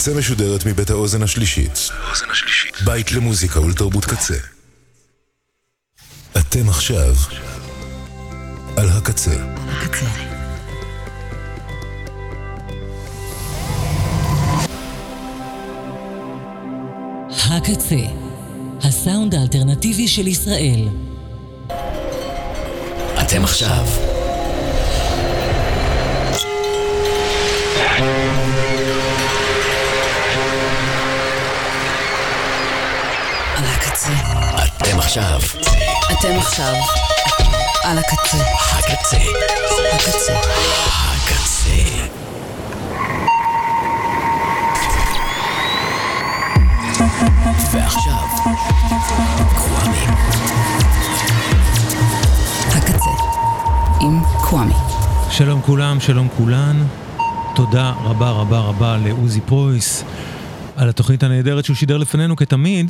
הקצה משודרת מבית האוזן השלישית. בית למוזיקה ולתרבות קצה. אתם עכשיו על הקצה. הקצה, הסאונד האלטרנטיבי של ישראל. אתם עכשיו על הקצה. אתם עכשיו על הקצה. הקצה. ועכשיו קוואמי. הקצה עם קוואמי. שלום כולם, שלום כולן. תודה רבה רבה רבה לעוזי פרויס על התוכנית הנהדרת שהוא שידר לפנינו כתמיד.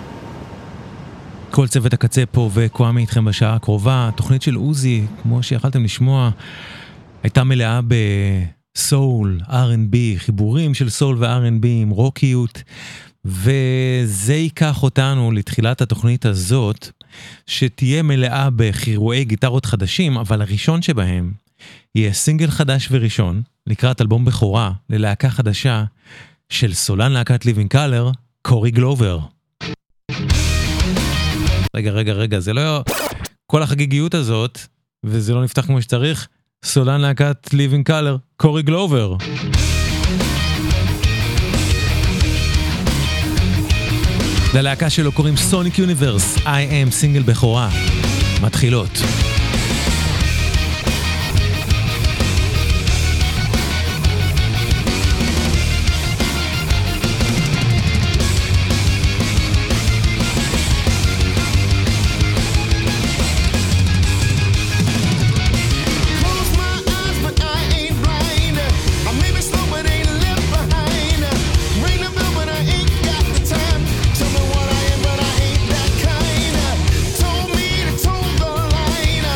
כל צוות הקצה פה וקוואמי איתכם בשעה הקרובה. התוכנית של עוזי, כמו שיכלתם לשמוע, הייתה מלאה בסול, R&B, חיבורים של סול ו-R&B עם רוקיות, וזה ייקח אותנו לתחילת התוכנית הזאת, שתהיה מלאה בחירועי גיטרות חדשים, אבל הראשון שבהם יהיה סינגל חדש וראשון, לקראת אלבום בכורה ללהקה חדשה של סולן להקת ליבינג קלר, קורי גלובר. רגע, זה לא כל החגיגיות הזאת, וזה לא נפתח כמו שצריך. סולן להקת ליבינג קלר, קורי גלובר. ללהקה שלו קוראים סוניק יוניברס, I am סינגל בכורה. מתחילות. Told me to toe the line.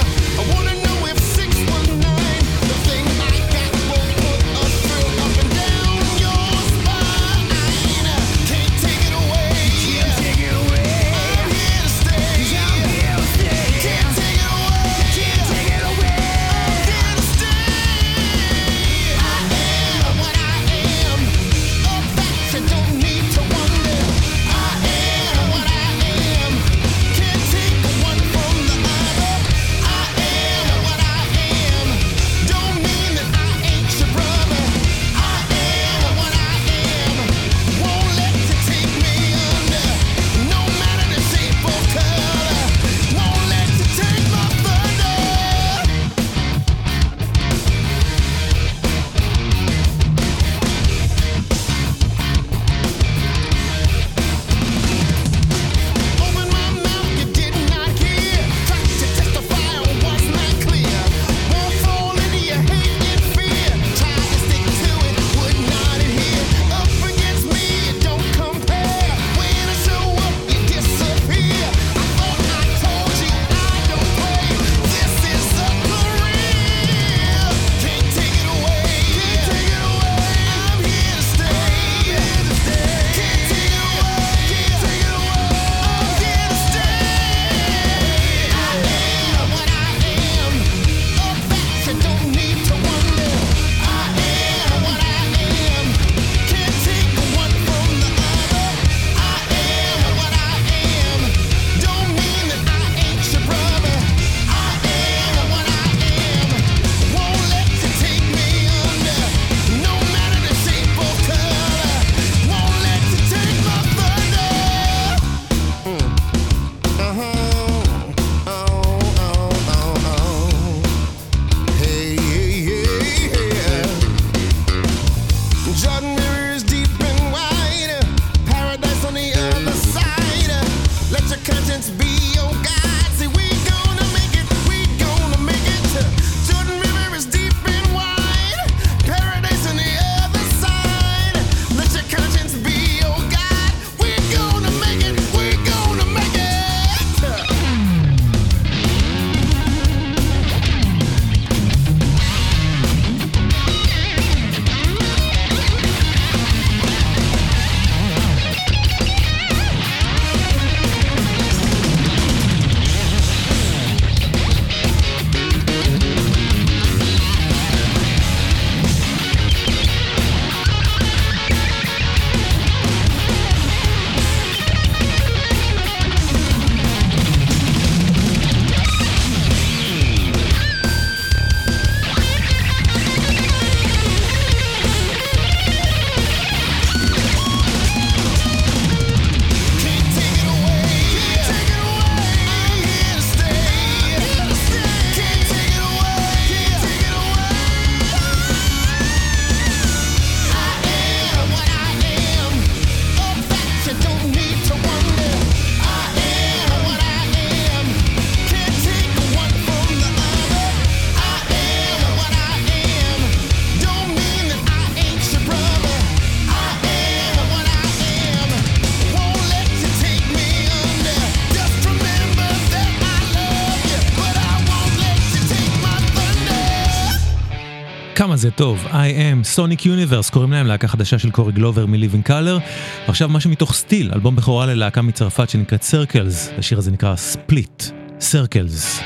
כמה זה טוב. I am Sonic Universe, קוראים להם, להקה חדשה של קורי גלובר מ-Living Color. ועכשיו משהו מתוך סטיל, אלבום בכורה ללהקה מצרפת שנקראת Circles. השיר הזה נקרא Split, Circles.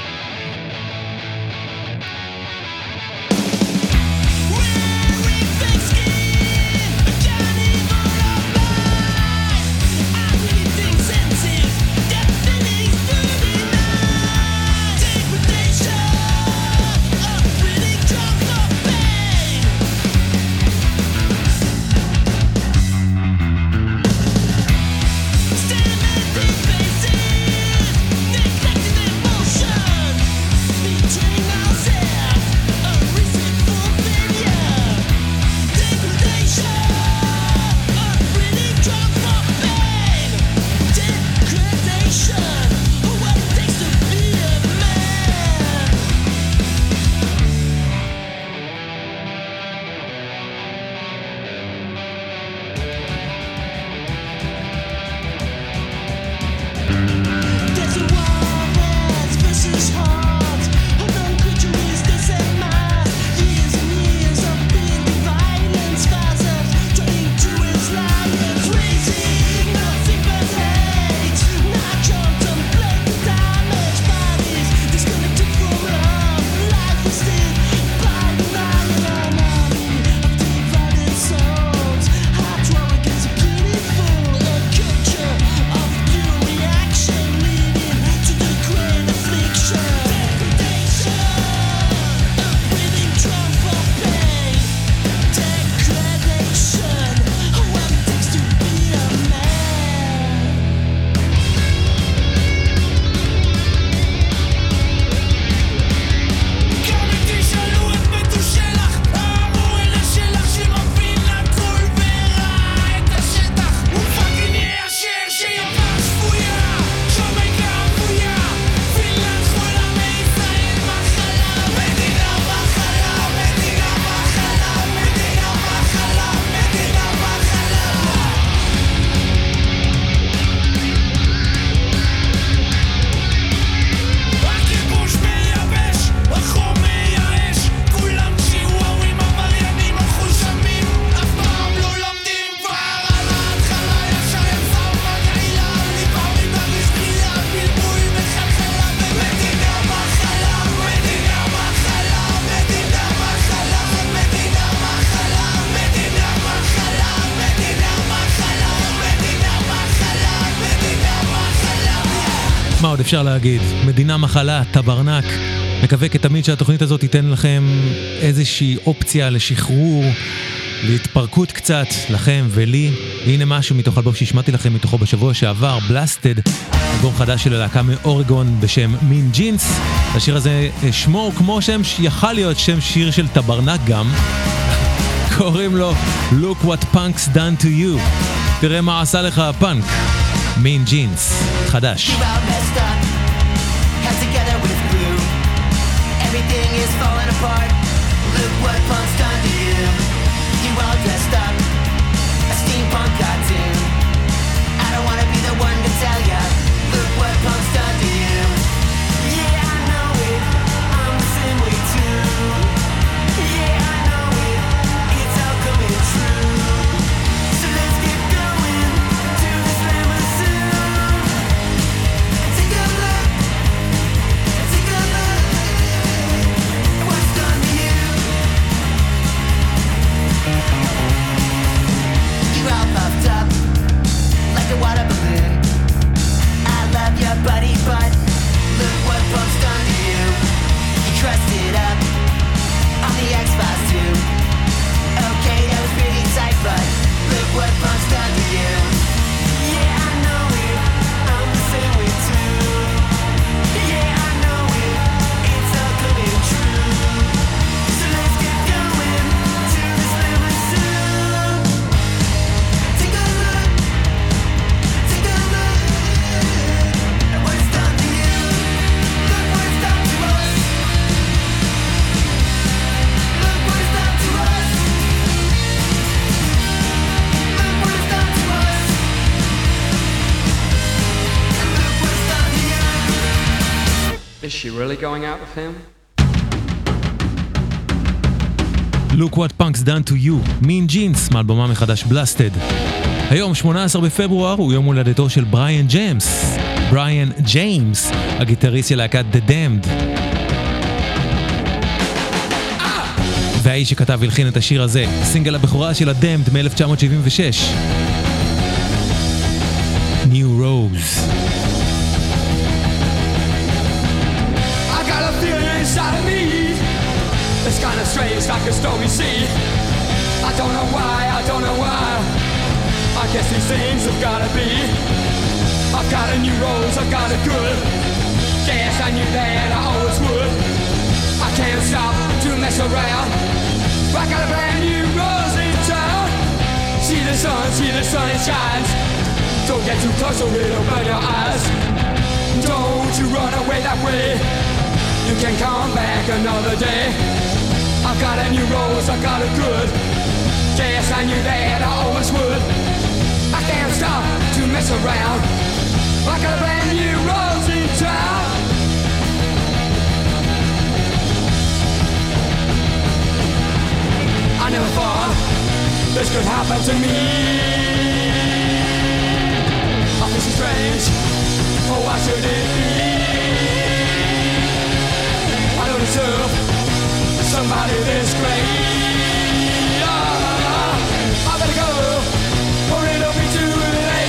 מה עוד אפשר להגיד? מדינה מחלה, טברנק. מקווה כתמיד שהתוכנית הזאת תיתן לכם איזושהי אופציה לשחרור, להתפרקות קצת, לכם ולי. הנה משהו מתוך אלבום שהשמעתי לכם מתוכו בשבוע שעבר, בלאסטד, אלבום חדש של הלהקה מאורגון בשם מין ג'ינס. השיר הזה שמו כמו שם שיכל להיות שם שיר של טברנק גם. קוראים לו Look What Punk's Done To You. תראה מה עשה לך הפאנק. מין ג'ינס, חדש. Everything is falling apart. Look what punk's done to you. You all dressed up, a steampunk cartoon. I don't wanna be the one to tell ya. Look what punk's done to you. Yeah, I know it. I'm the same way too. Yeah, I know it. It's all coming true. So let's get going to this limousine. Take a look. Take a look. What's done to you? You're all puffed up like a water balloon. I love your buddy, but look what punk's done to you. You dressed it up on the X-Files too. Okay, that was pretty tight, but look what punk's done to you. Yeah, I know it. I'm the same way too. Yeah, I know it. It's all coming true. So let's get going to this limousine. Take a look. Take a look. At what's done to you. Look what's done to us. Look what's done to us. Look what's done to us. And look what's done to you. Is she really going out with him? Look What Punk's Done to You, Mean Jeans, מאלבומם מחדש Blasted. היום 18 בפברואר הוא יום הולדתו של בריאן ג'יימס. בריאן ג'יימס, הגיטריסט של להקת The Damned. והאיש שכתב והלחין את השיר הזה, סינגל הבכורה של ה-Damned מ-1976. New Rose. I got a feeling inside of me. It's kind of strange, like a stormy sea. I don't know why, I don't know why. I guess these things have gotta be. I've got a new rose, I've got a good. Guess I knew that I always would. I can't stop to mess around. I got a brand new rose in town. See the sun, it shines. Don't get too close or it'll burn your eyes. Don't you run away that way. You can come back another day. I've got a new rose, I've got a good. Guess I knew that I always would. I can't stop to mess around. I got a brand new rose in town. I never thought this could happen to me. I feel so strange. Oh, why should it be? I don't deserve somebody this great. I better go, or it'll be too late.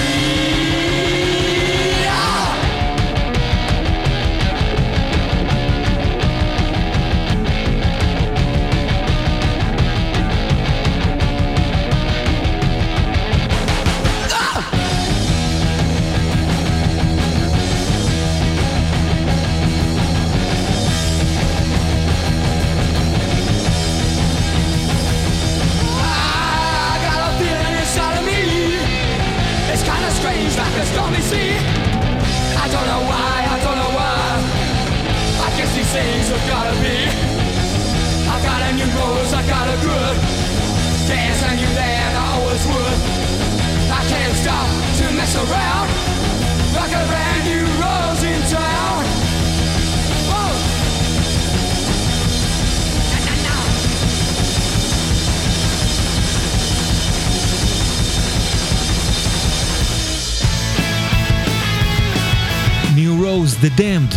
Like a stormy sea. I don't know why, I don't know why. I guess these things have gotta be. I got a new rose, I got a good. Guess I knew that I always would. I can't stop to mess around. I got a brand new rose in town. Whoa. New Rose, The Damned.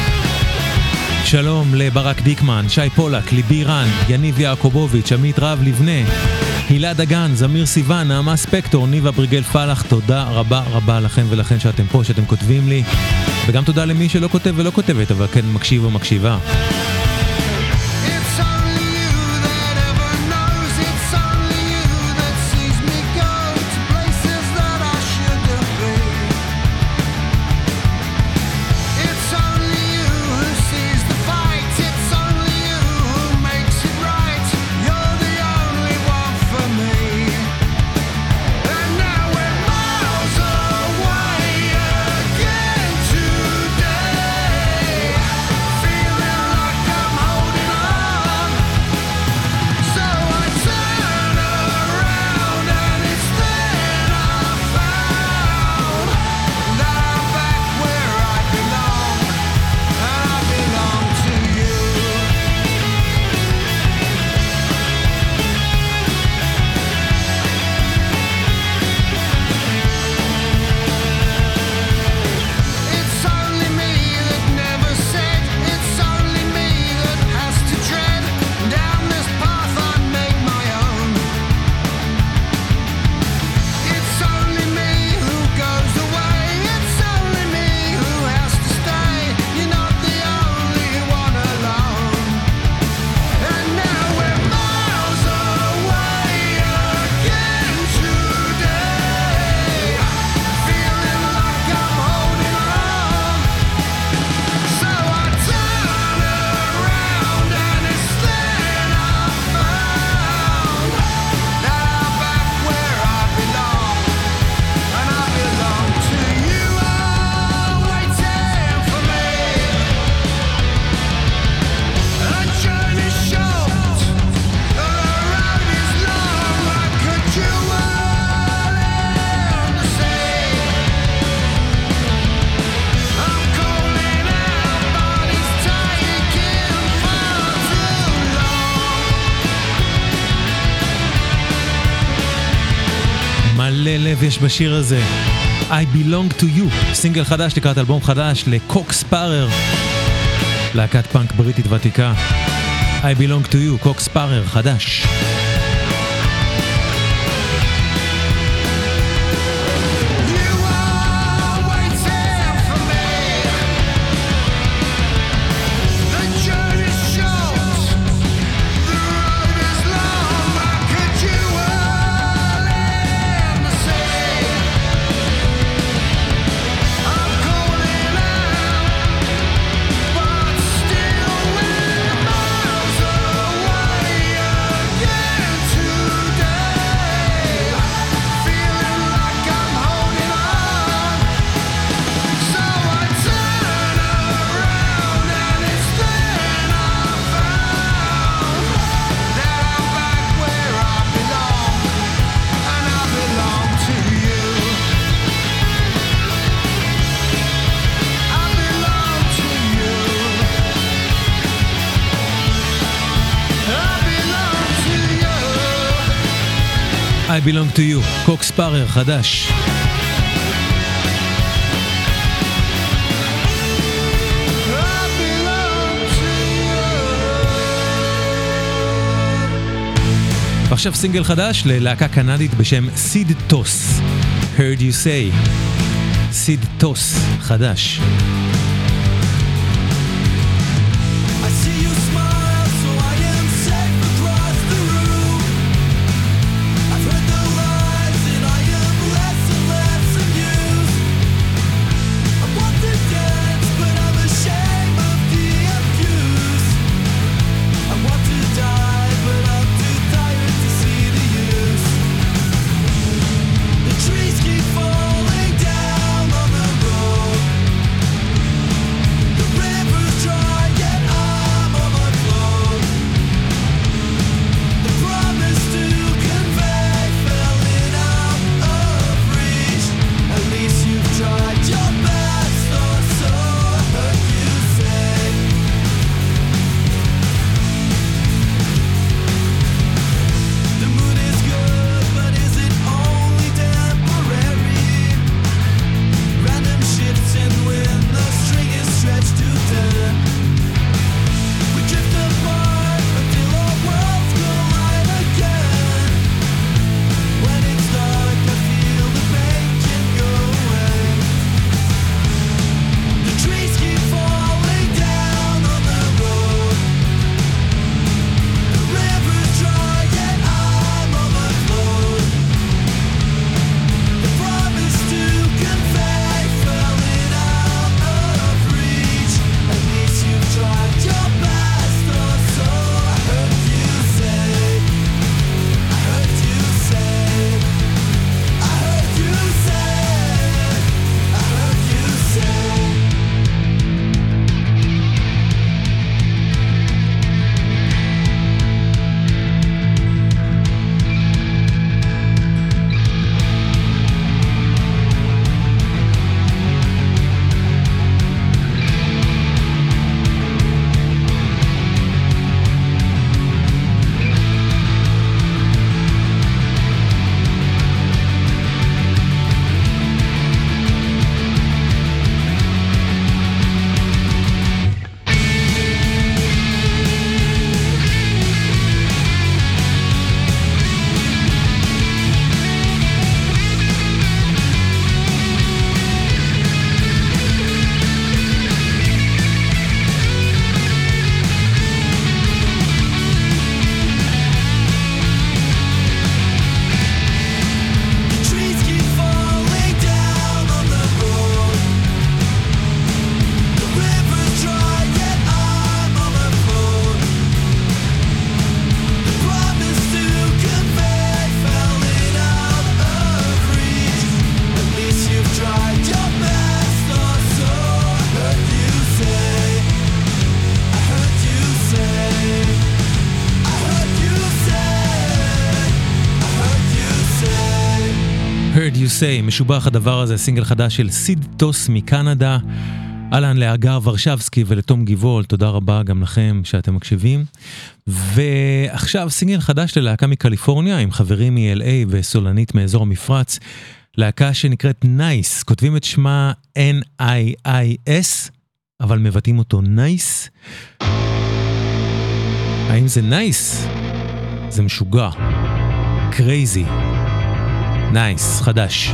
שלום לברק דיקמן, שי פולק, ליבי רן, יניב יעקובוביץ', עמית רב לבנה, הילה דגן, זמיר סיוון, נעמה ספקטור, ניבה בריגל פלח. תודה רבה רבה לכם ולכן שאתם פה, שאתם כותבים לי, וגם תודה למי שלא כותב ולא כותבת, אבל כן מקשיב או מקשיבה. Feeling like לב יש בשיר הזה. I belong to you, סינגל חדש לקראת אלבום חדש לקוקס פארר, להקת פאנק בריטית ותיקה. I belong to you, קוקס פארר חדש. I belong to you, קוקס פארר חדש. ועכשיו סינגל חדש ללהקה קנדית בשם סיד טוס. Heard you say. סיד טוס חדש. Heard you say, משובח הדבר הזה, סינגל חדש של סיד טוס מקנדה. אהלן לאגר ורשבסקי ולתום גיבול, תודה רבה גם לכם שאתם מקשיבים. ועכשיו סינגל חדש ללהקה מקליפורניה, עם חברים מ-LA וסולנית מאזור המפרץ. להקה שנקראת נייס, כותבים את שמה N-I-I-S, אבל מבטאים אותו נייס. האם זה נייס? זה משוגע. קרייזי. נייס, חדש.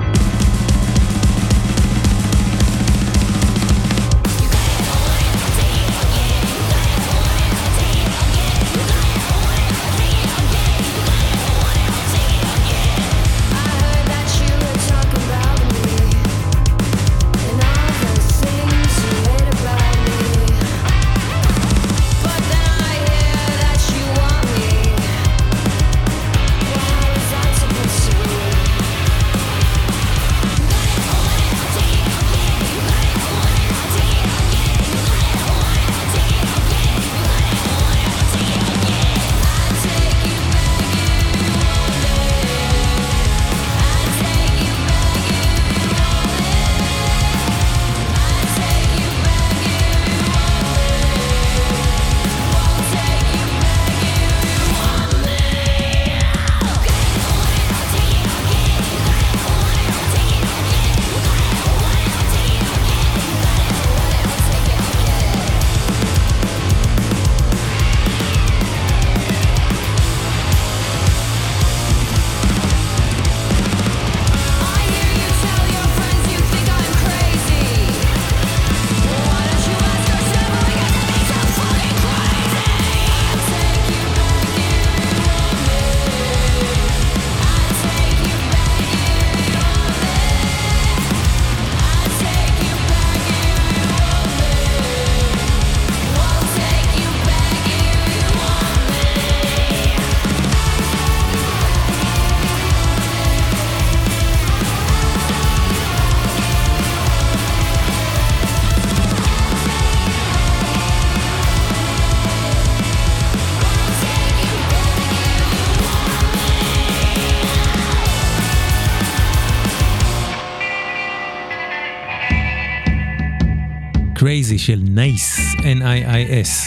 קרייזי של נייס, N-I-I-S.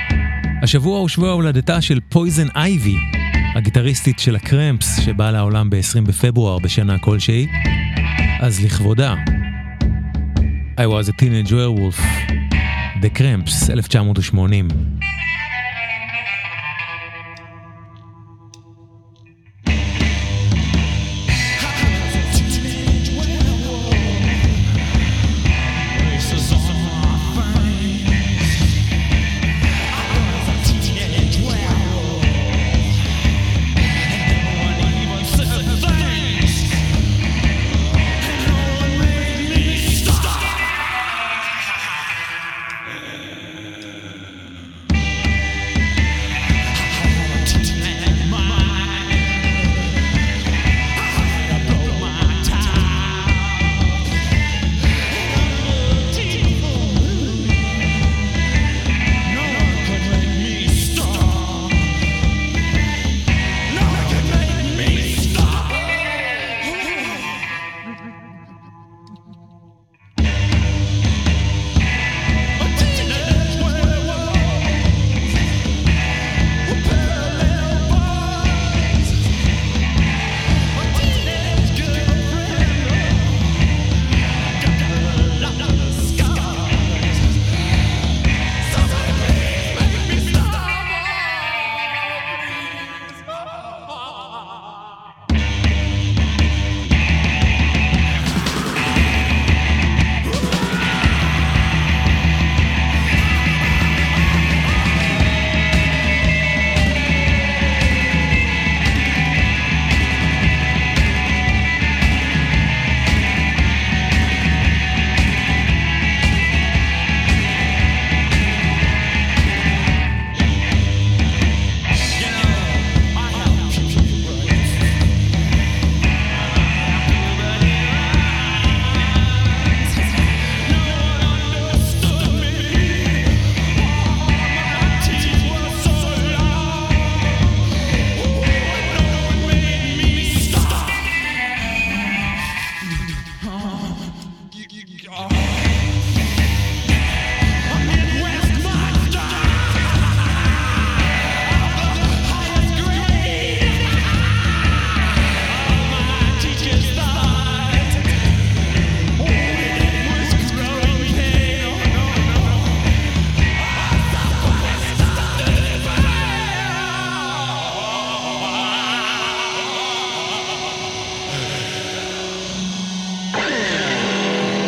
השבוע הוא שבוע הולדתה של פויזן אייבי, הגיטריסטית של הקרמפס שבאה לעולם ב-20 בפברואר בשנה כלשהי. אז לכבודה, I was a teenage werewolf, The Cramps, 1980.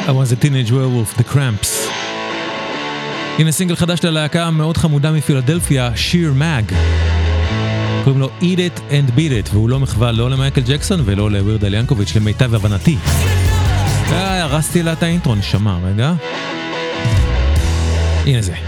I was a teenage werewolf, the Cramps. הנה סינגל חדש ללהקה מאוד חמודה מפילדלפיה, שיר מאג. קוראים לו Eat It and Beat It, והוא לא מחווה לא למייקל ג'קסון ולא לווירד אל ינקוביץ' למיטב הבנתי. הרסתי לה את האינטרו, נשמע, רגע. הנה זה.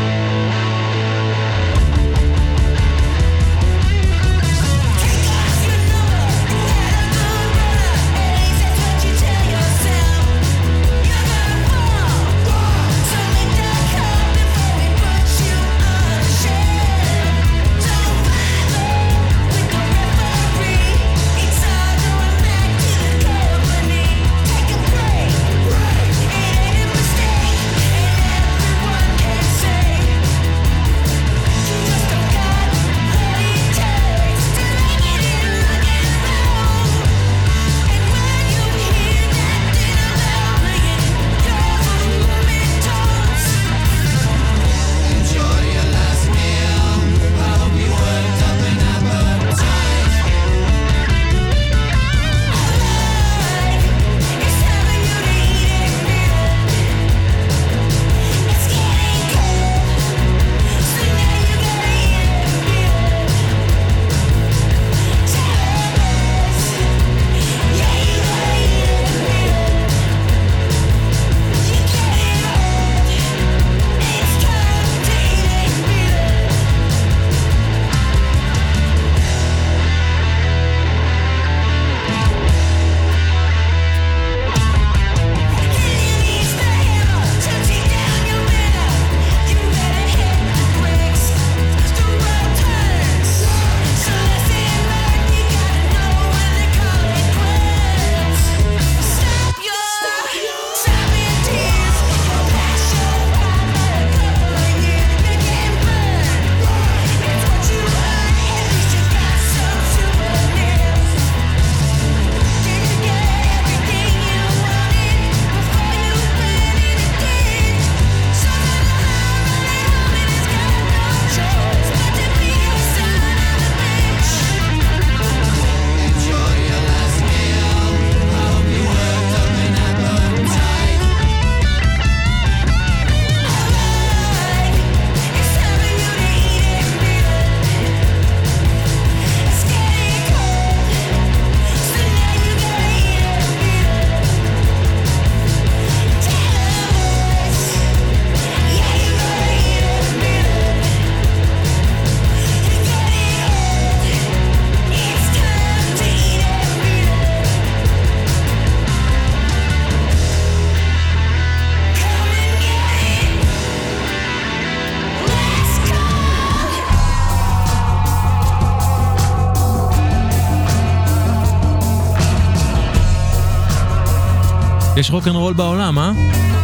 יש רוק אנד רול בעולם, אה?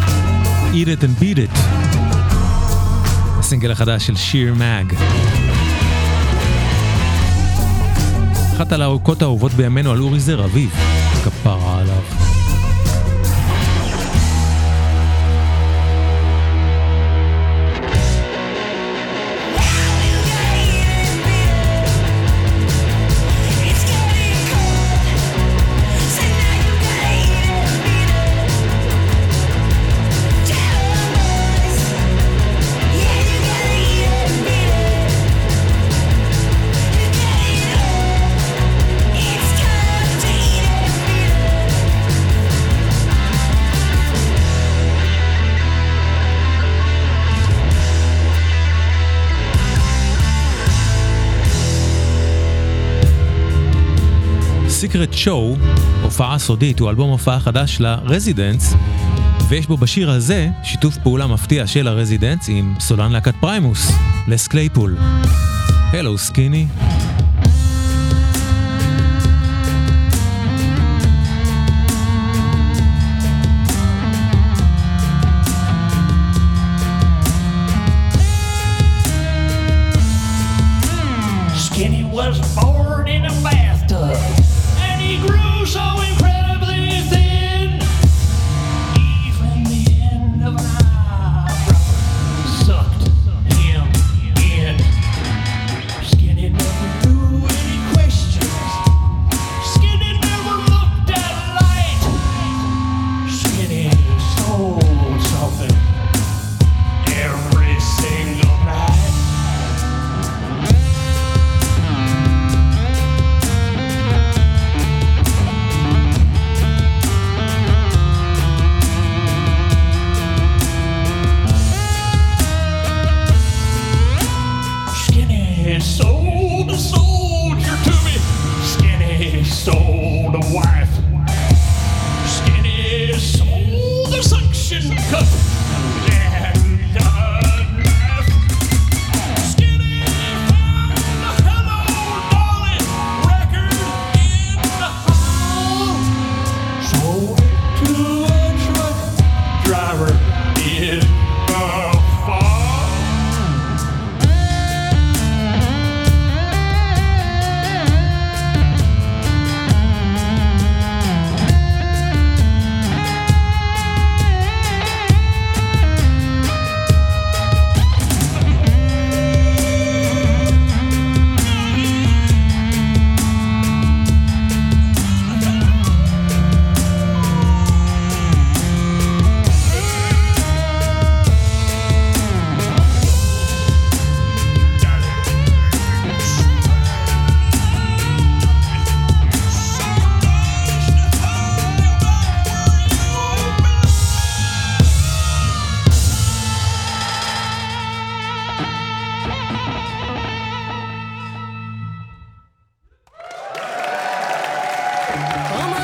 Eat It and Beat It. הסינגל החדש של שיר מאג. אחת הלהקות האהובות בימינו על אורי זר אביב. כפרה עליו. סיקרט שואו, הופעה סודית, הוא אלבום הופעה חדש לרזידנס, ויש בו בשיר הזה שיתוף פעולה מפתיע של הרזידנס עם סולן להקת פריימוס, לס קלייפול. הלו סקיני. Skinny was born in a bathtub, and he grew so incredibly thin. Even the end of an eyebrow sucked him in. Skinny never knew any questions. Skinny never looked at light. Skinny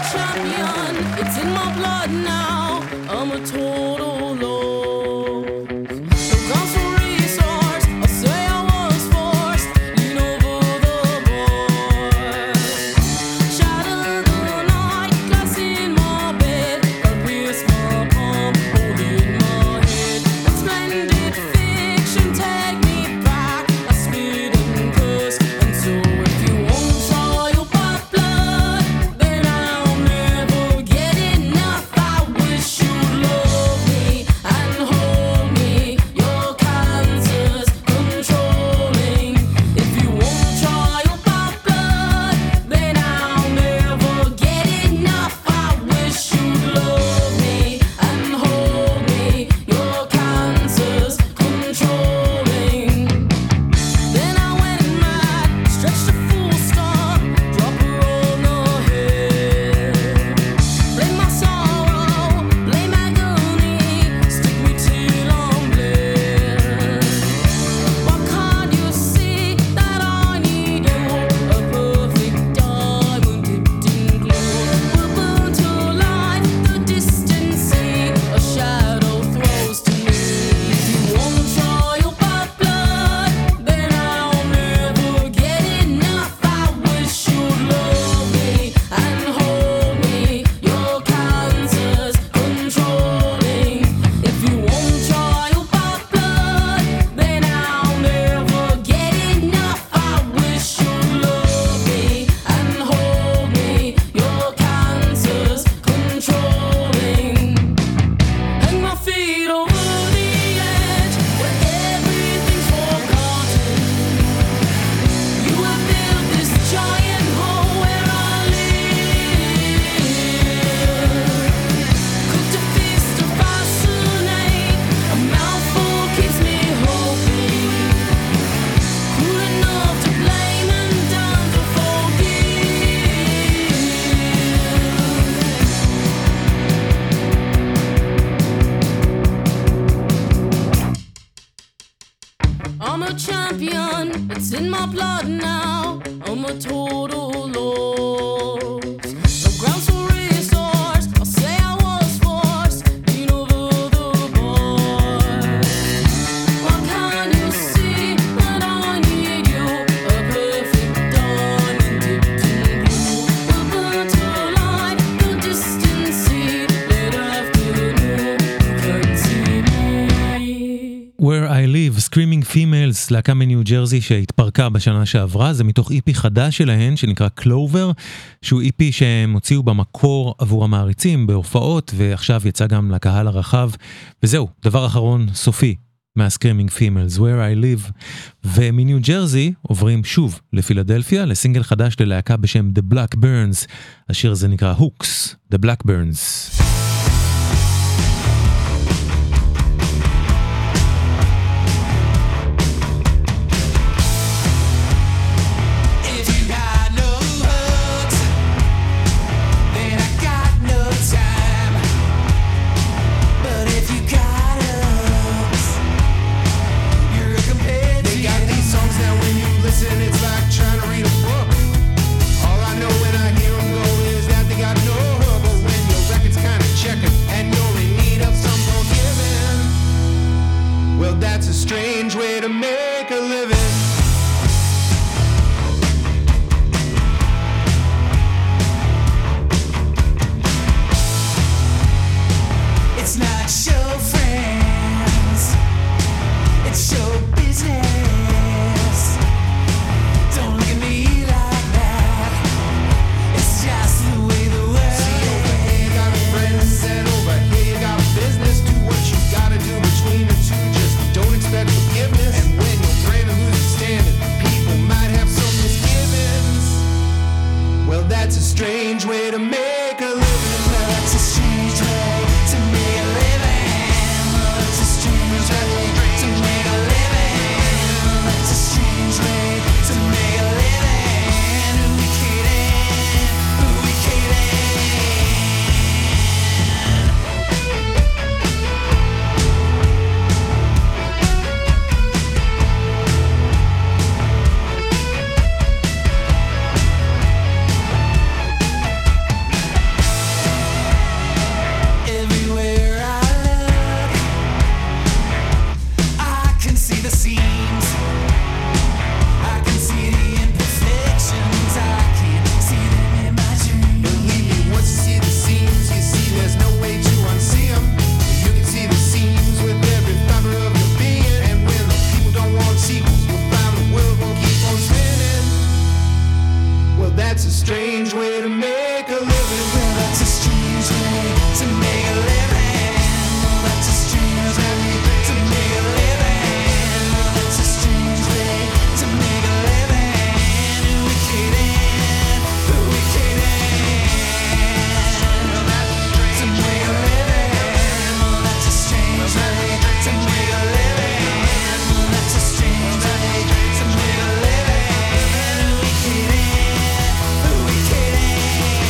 champion. It's in my blood now. I'm a total loss. No grounds for resource. I'll say I was forced. Lean over the bar. Shadow the night, glass in my bed. I pierce my palm, holding my head. And splendid fiction, take me back. I spit and curse, and so if you won't try your bad blood, then I'll never get enough. I wish you'd love me and hold me. Your cancer's controlling. If you won't try your bad blood, then I'll never get enough. I wish you'd love me and hold me. Your cancer's controlling. Then I went mad, stretched a full stop, drop her on the head. Blame my sorrow, blame agony, stick me till I'm bled. Why can't you see that I need you? A perfect diamond dipped in glue will burn to life the distant sea a shadow throws to me. If you won't try your bad blood, then I'll never get enough. I wish you'd love me and hold me. Your cancer's controlling. If you won't try your bad blood, then I'll never get enough. I wish you'd love me and hold me. Your cancer's controlling. Hang my feet over the edge where everything's forgotten. You have built this giant hole where I live. Cooked a feast to fascinate. A mouthful keeps me hoping. Cool enough to blame and down to forgive. I'm a champion, it's in my blood now. I'm a total loss. No grounds for resource. I'll say I was forced. Lean over the bar. Why can't you see that I need you? A perfect diamond dipped in blue will burn to light the distant sea late afternoon. You can't see me. Where I Live, Screaming Females, להקה מניו ג'רזי שהתפרקה בשנה שעברה, זה מתוך איפי חדש שלהן שנקרא Clover, שהוא איפי שהם הוציאו במקור עבור המעריצים בהופעות, ועכשיו יצא גם לקהל הרחב, וזהו, דבר אחרון סופי מה-Screaming Females, Where I Live, ומניו ג'רזי עוברים שוב לפילדלפיה, לסינגל חדש ללהקה בשם The Blackburns, השיר הזה נקרא Hooks, The Blackburns. If you got no hooks, then I got no time. But if you got hooks, you're a companion. They got these songs that when you listen, it's like trying to read a book. All I know when I hear them go is that they got no hook. But when your record's kind of checking and you're in need of some forgiving, well, that's a strange way to make a living. It's not show friends, it's show business. Don't look at me like that. It's just the way the world. See, over here you got friends, and over here you got business. Do what you gotta do between the two. Just don't expect forgiveness. And when you're brave and lose your standing, people might have some misgivings. Well, that's a strange way to make a living. That's a strange way to make a living. That's a strange way to make a living. That's a strange way to make a living. Who we kidding? Who we kidding? That's a strange way to make a living. Well, that's a strange way to make a living. That's a strange way to make a living. That's a strange way to make a living. Who we kidding? Who we kidding? To make a living. That's a strange way to make a living. That's a strange way to make a living. Who we kidding? Who we kidding?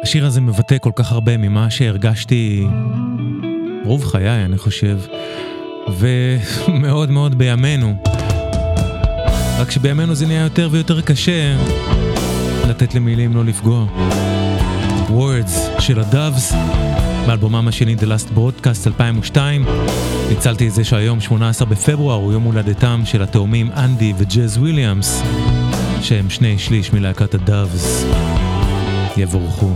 השיר הזה מבטא כל כך הרבה ממה שהרגשתי רוב חיי, אני חושב, ומאוד מאוד בימינו. רק שבימינו זה נהיה יותר ויותר קשה לתת למילים לא לפגוע. Words של הדאבס, באלבומם השני The Last Broadcast 2002. ניצלתי את זה שהיום 18 בפברואר הוא יום הולדתם של התאומים אנדי וג'אז וויליאמס, שהם 2/3 מלהקת הדאבס. יבורכו.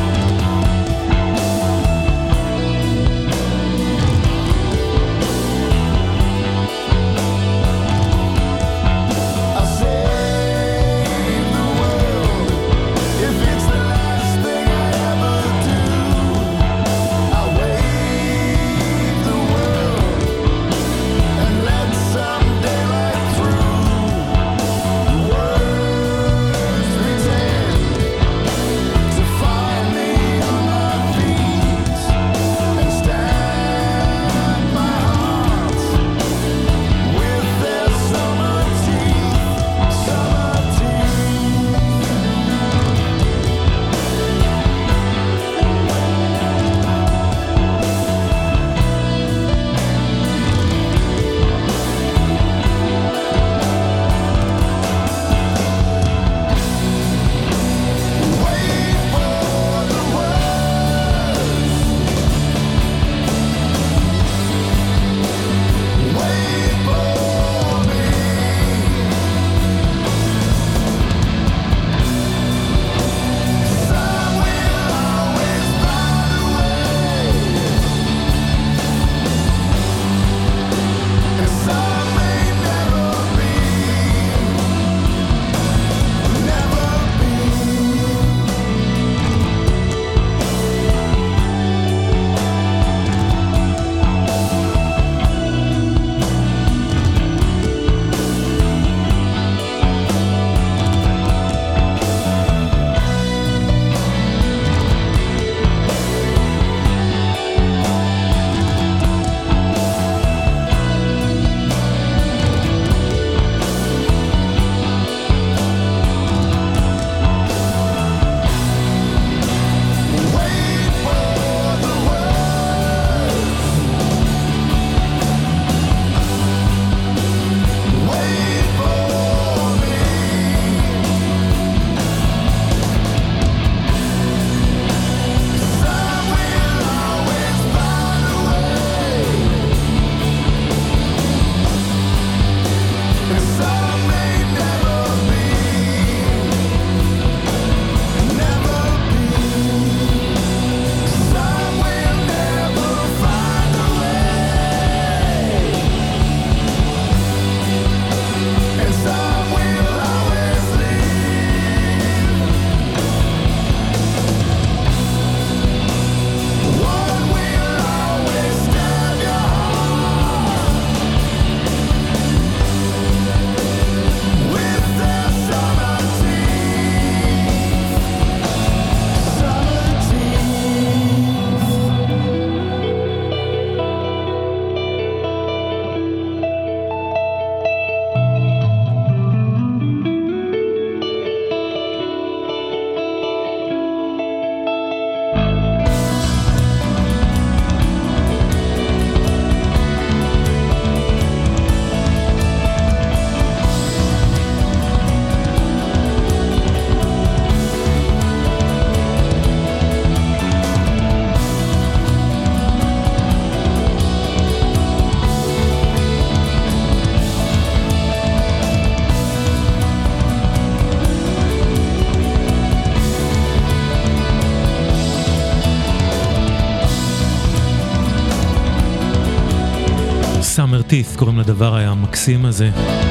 Summer Teeth קוראים לדבר המקסים הזה,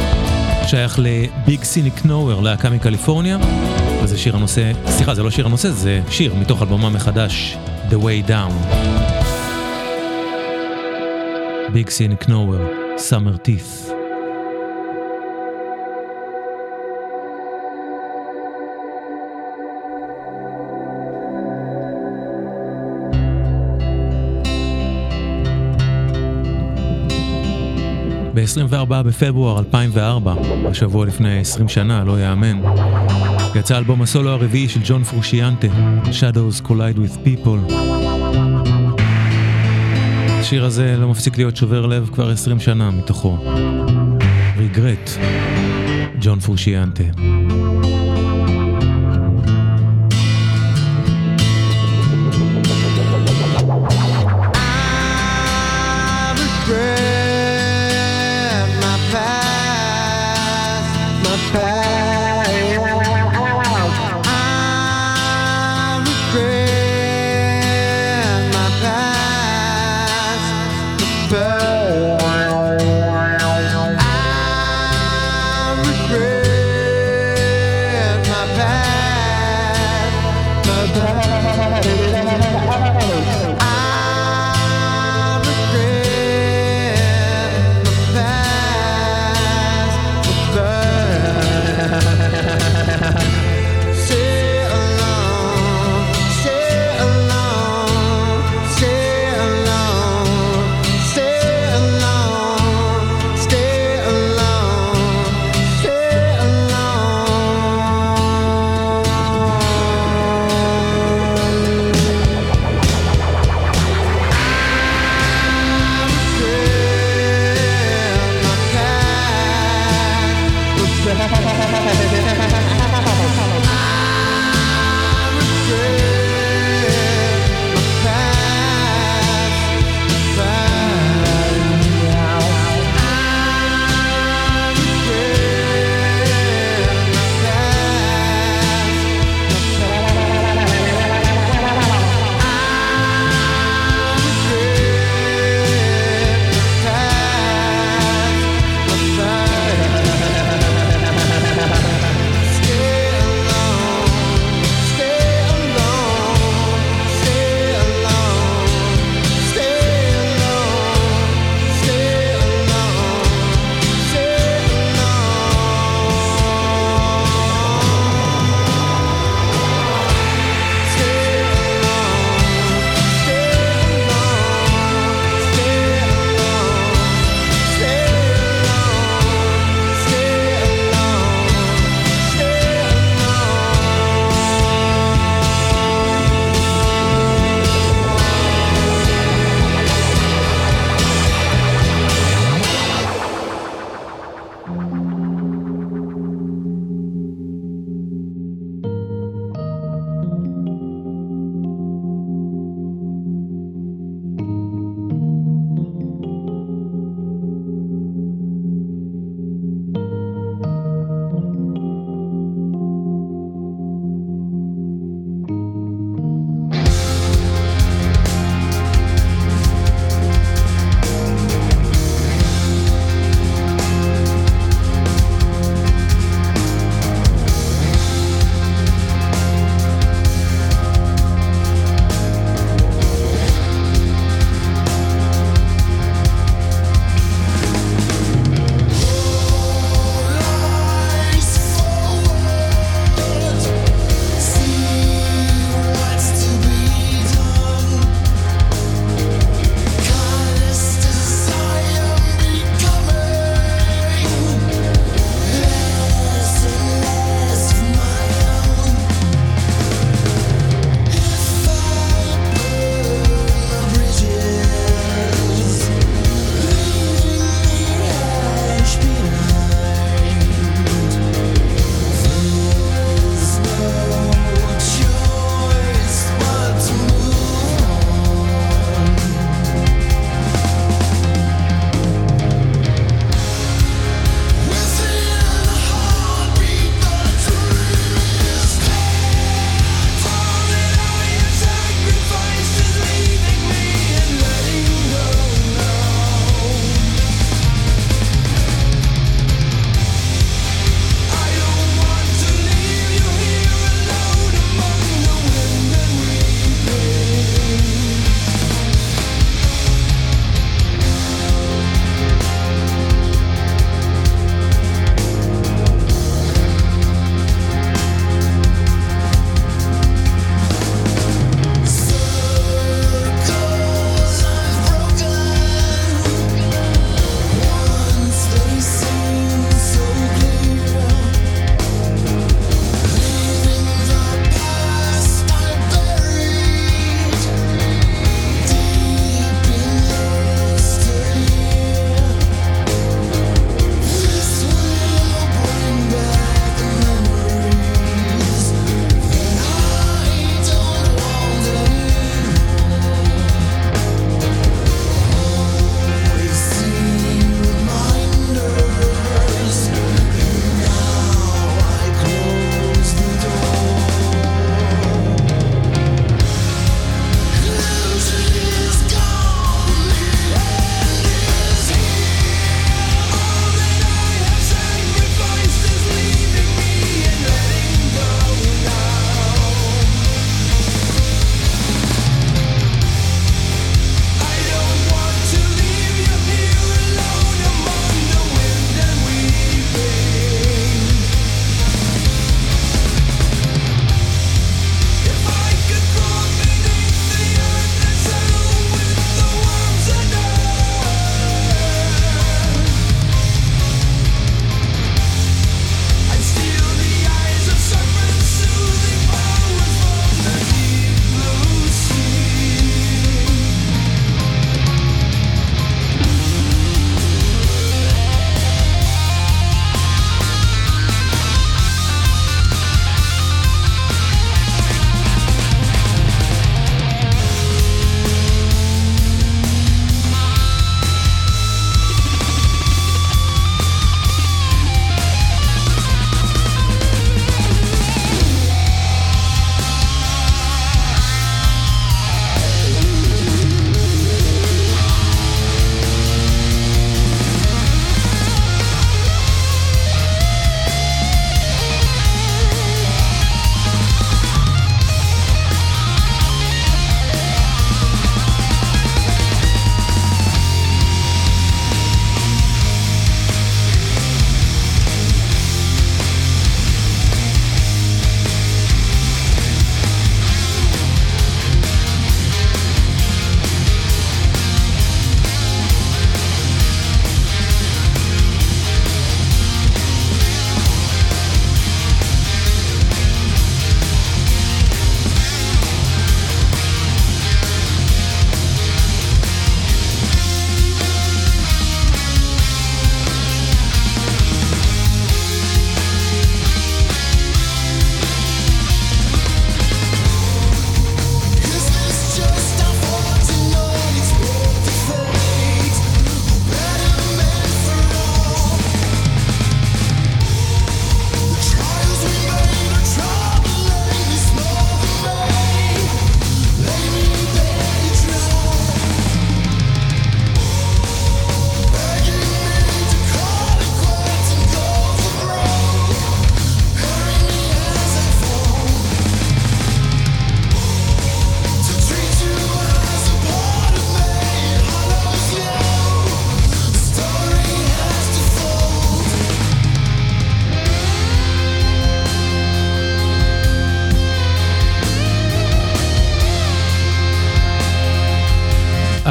שייך לביג סיניק נוואר, להקה מקליפורניה, וזה שיר הנושא, סליחה, זה לא שיר הנושא, זה שיר מתוך אלבומם מחדש, The Way Down. ביג סיניק נוואר, Summer Teeth. ב-24 בפברואר 2004, השבוע לפני 20 שנה, לא יאמן, יצא אלבום הסולו הרביעי של ג'ון פרושיאנטה, Shadows Collide with People. השיר הזה לא מפסיק להיות שובר לב כבר 20 שנה מתוכו. ריגרט, ג'ון פרושיאנטה. I regret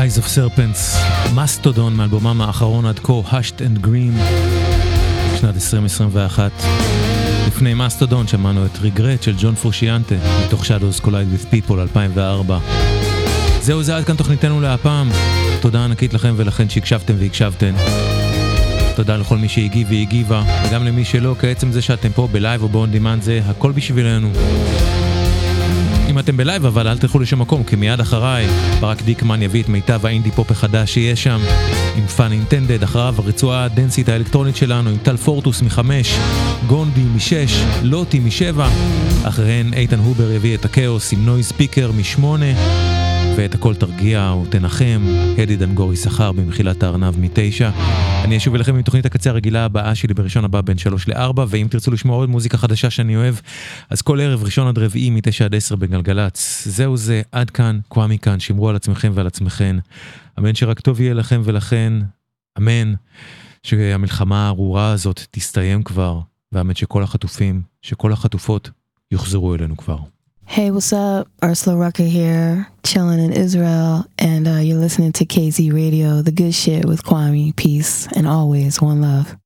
Eyes of Serpents, מסטודון מאלבומם האחרון עד כה, Hushed and Green, שנת 2021. לפני מסטודון שמענו את Regret של ג'ון פרושיאנטה, מתוך Shadows Collide with People 2004. זהו, זה עד כאן תוכניתנו להפעם. תודה ענקית לכם ולכן שהקשבתם והקשבתן. תודה לכל מי שהגיב והגיבה, וגם למי שלא, כעצם זה שאתם פה בלייב או באון דימנד, זה הכל בשבילנו. אם אתם בלייב אבל אל תלכו לשום מקום, כי מיד אחריי ברק דיקמן יביא את מיטב האינדי פופ החדש שיש שם, עם פאן אינטנדד, אחריו הרצועה הדנסית האלקטרונית שלנו עם טל פורטוס מ5, גונדי מ6, לוטי מ7, אחריהן איתן הובר יביא את הקאוס עם נויז ספיקר מ8, ואת הכל תרגיע ותנחם, הדי דנגורי שכר במחילת הארנב מ9. אני אשוב אליכם עם תוכנית הקצה הרגילה הבאה שלי בראשון הבא בין 3 ל-4, ואם תרצו לשמוע עוד מוזיקה חדשה שאני אוהב, אז כל ערב ראשון עד רביעי מ9 עד 10 בגלגלץ. זהו זה, עד כאן, קוואמי כאן, שמרו על עצמכם ועל עצמכן. אמן שרק טוב יהיה לכם ולכן, אמן שהמלחמה הארורה הזאת תסתיים כבר, ואמן שכל החטופים, שכל החטופות יוחזרו אלינו כבר. Hey, what's up? Ursula Rucker here, chilling in Israel, and you're listening to KZ Radio, the good shit with Kwame. Peace, and always one love.